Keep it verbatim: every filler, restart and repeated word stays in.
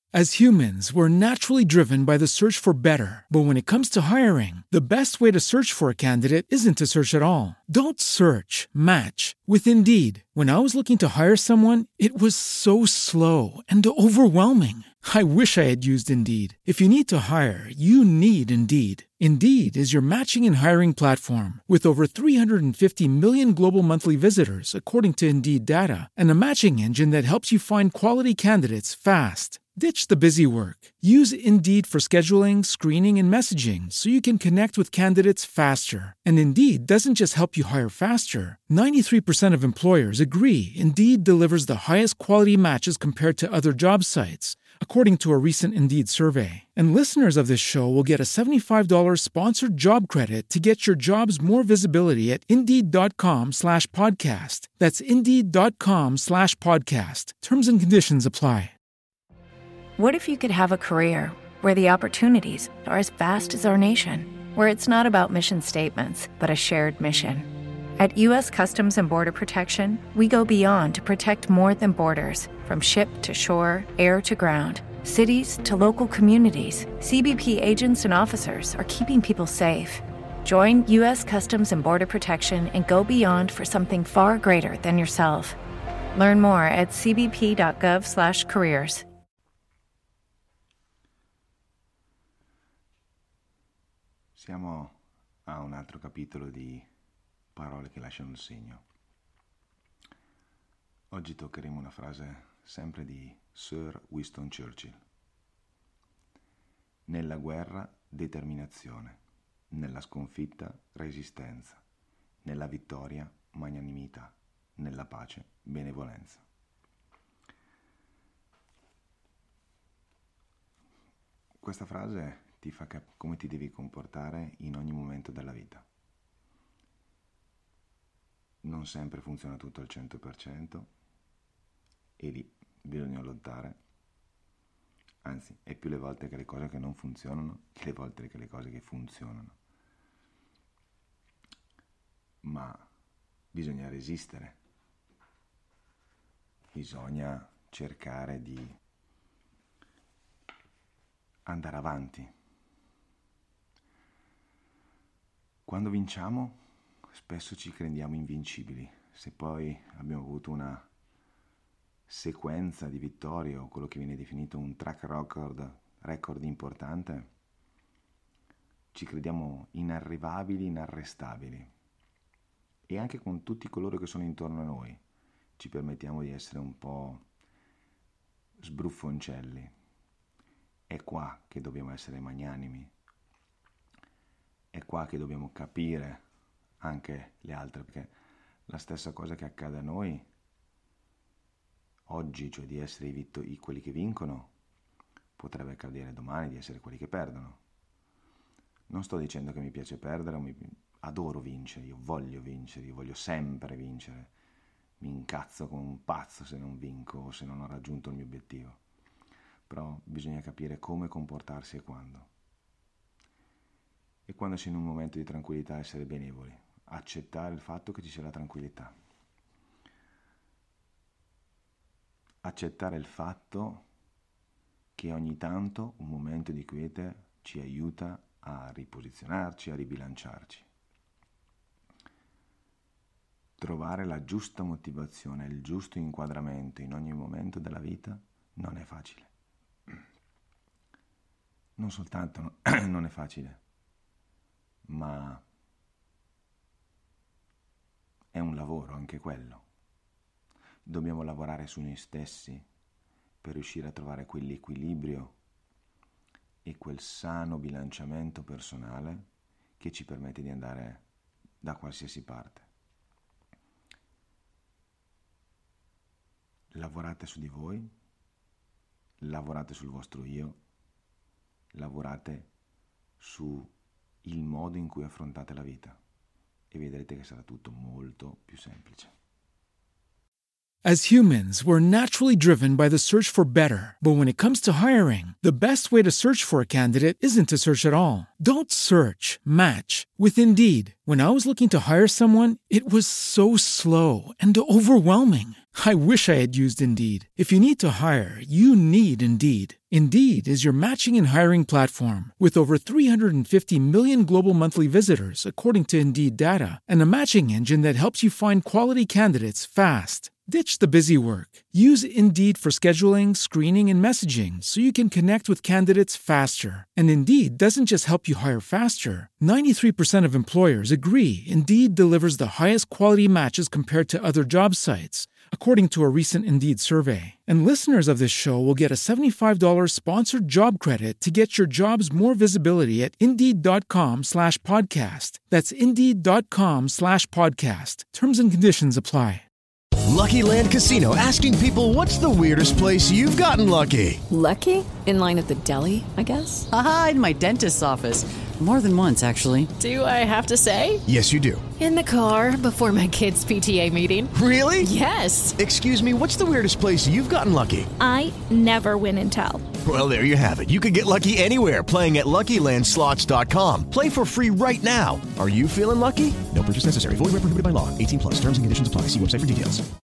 As humans, we're naturally driven by the search for better. But when it comes to hiring, the best way to search for a candidate isn't to search at all. Don't search, match with Indeed. When I was looking to hire someone, it was so slow and overwhelming. I wish I had used Indeed. If you need to hire, you need Indeed. Indeed is your matching and hiring platform with over three hundred fifty million global monthly visitors, according to Indeed data, and a matching engine that helps you find quality candidates fast. Ditch the busy work. Use Indeed for scheduling, screening, and messaging so you can connect with candidates faster. And Indeed doesn't just help you hire faster. ninety-three percent of employers agree Indeed delivers the highest quality matches compared to other job sites, according to a recent Indeed survey. And listeners of this show will get a seventy-five dollars sponsored job credit to get your jobs more visibility at Indeed.com slash podcast. That's Indeed.com slash podcast. Terms and conditions apply. What if you could have a career where the opportunities are as vast as our nation, where it's not about mission statements, but a shared mission? At U S Customs and Border Protection, we go beyond to protect more than borders. From ship to shore, air to ground, cities to local communities, C B P agents and officers are keeping people safe. Join U S Customs and Border Protection and go beyond for something far greater than yourself. Learn more at cbp.gov slash careers. Siamo a un altro capitolo di parole che lasciano il segno. Oggi toccheremo una frase sempre di Sir Winston Churchill. Nella guerra, determinazione. Nella sconfitta, resistenza. Nella vittoria, magnanimità. Nella pace, benevolenza. Questa frase ti fa capire come ti devi comportare in ogni momento della vita. Non sempre funziona tutto al cento per cento e lì bisogna lottare. Anzi, è più le volte che le cose che non funzionano che le volte che le cose che funzionano. Ma bisogna resistere. Bisogna cercare di andare avanti. Quando vinciamo, spesso ci crediamo invincibili. Se poi abbiamo avuto una sequenza di vittorie o quello che viene definito un track record, record importante, ci crediamo inarrivabili, inarrestabili. E anche con tutti coloro che sono intorno a noi ci permettiamo di essere un po' sbruffoncelli. È qua che dobbiamo essere magnanimi. È qua che dobbiamo capire anche le altre, perché la stessa cosa che accade a noi oggi, cioè di essere i, vitto- i quelli che vincono, potrebbe accadere domani di essere quelli che perdono. Non sto dicendo che mi piace perdere, o mi adoro vincere, io voglio vincere, io voglio sempre vincere. Mi incazzo come un pazzo se non vinco o se non ho raggiunto il mio obiettivo. Però bisogna capire come comportarsi e quando. E quando sei in un momento di tranquillità essere benevoli, accettare il fatto che ci sia la tranquillità. Accettare il fatto che ogni tanto un momento di quiete ci aiuta a riposizionarci, a ribilanciarci. Trovare la giusta motivazione, il giusto inquadramento in ogni momento della vita non è facile. Non soltanto non è facile, ma è un lavoro anche quello. Dobbiamo lavorare su noi stessi per riuscire a trovare quell'equilibrio e quel sano bilanciamento personale che ci permette di andare da qualsiasi parte. Lavorate su di voi, lavorate sul vostro io, lavorate su il modo in cui affrontate la vita e vedrete che sarà tutto molto più semplice. As humans, we're naturally driven by the search for better. But when it comes to hiring, the best way to search for a candidate isn't to search at all. Don't search, match with Indeed. When I was looking to hire someone, it was so slow and overwhelming. I wish I had used Indeed. If you need to hire, you need Indeed. Indeed is your matching and hiring platform with over three hundred fifty million global monthly visitors, according to Indeed data, and a matching engine that helps you find quality candidates fast. Ditch the busy work. Use Indeed for scheduling, screening, and messaging so you can connect with candidates faster. And Indeed doesn't just help you hire faster. ninety-three percent of employers agree Indeed delivers the highest quality matches compared to other job sites, according to a recent Indeed survey. And listeners of this show will get a seventy-five dollars sponsored job credit to get your jobs more visibility at Indeed.com slash podcast. That's Indeed.com slash podcast. Terms and conditions apply. Lucky Land Casino, asking people, what's the weirdest place you've gotten lucky? Lucky? In line at the deli, I guess? Aha, in my dentist's office. More than once, actually. Do I have to say? Yes, you do. In the car before my kids' P T A meeting. Really? Yes. Excuse me, what's the weirdest place you've gotten lucky? I never win and tell. Well, there you have it. You can get lucky anywhere, playing at Lucky Land Slots dot com. Play for free right now. Are you feeling lucky? No purchase necessary. Void where prohibited by law. eighteen plus. Terms and conditions apply. See website for details.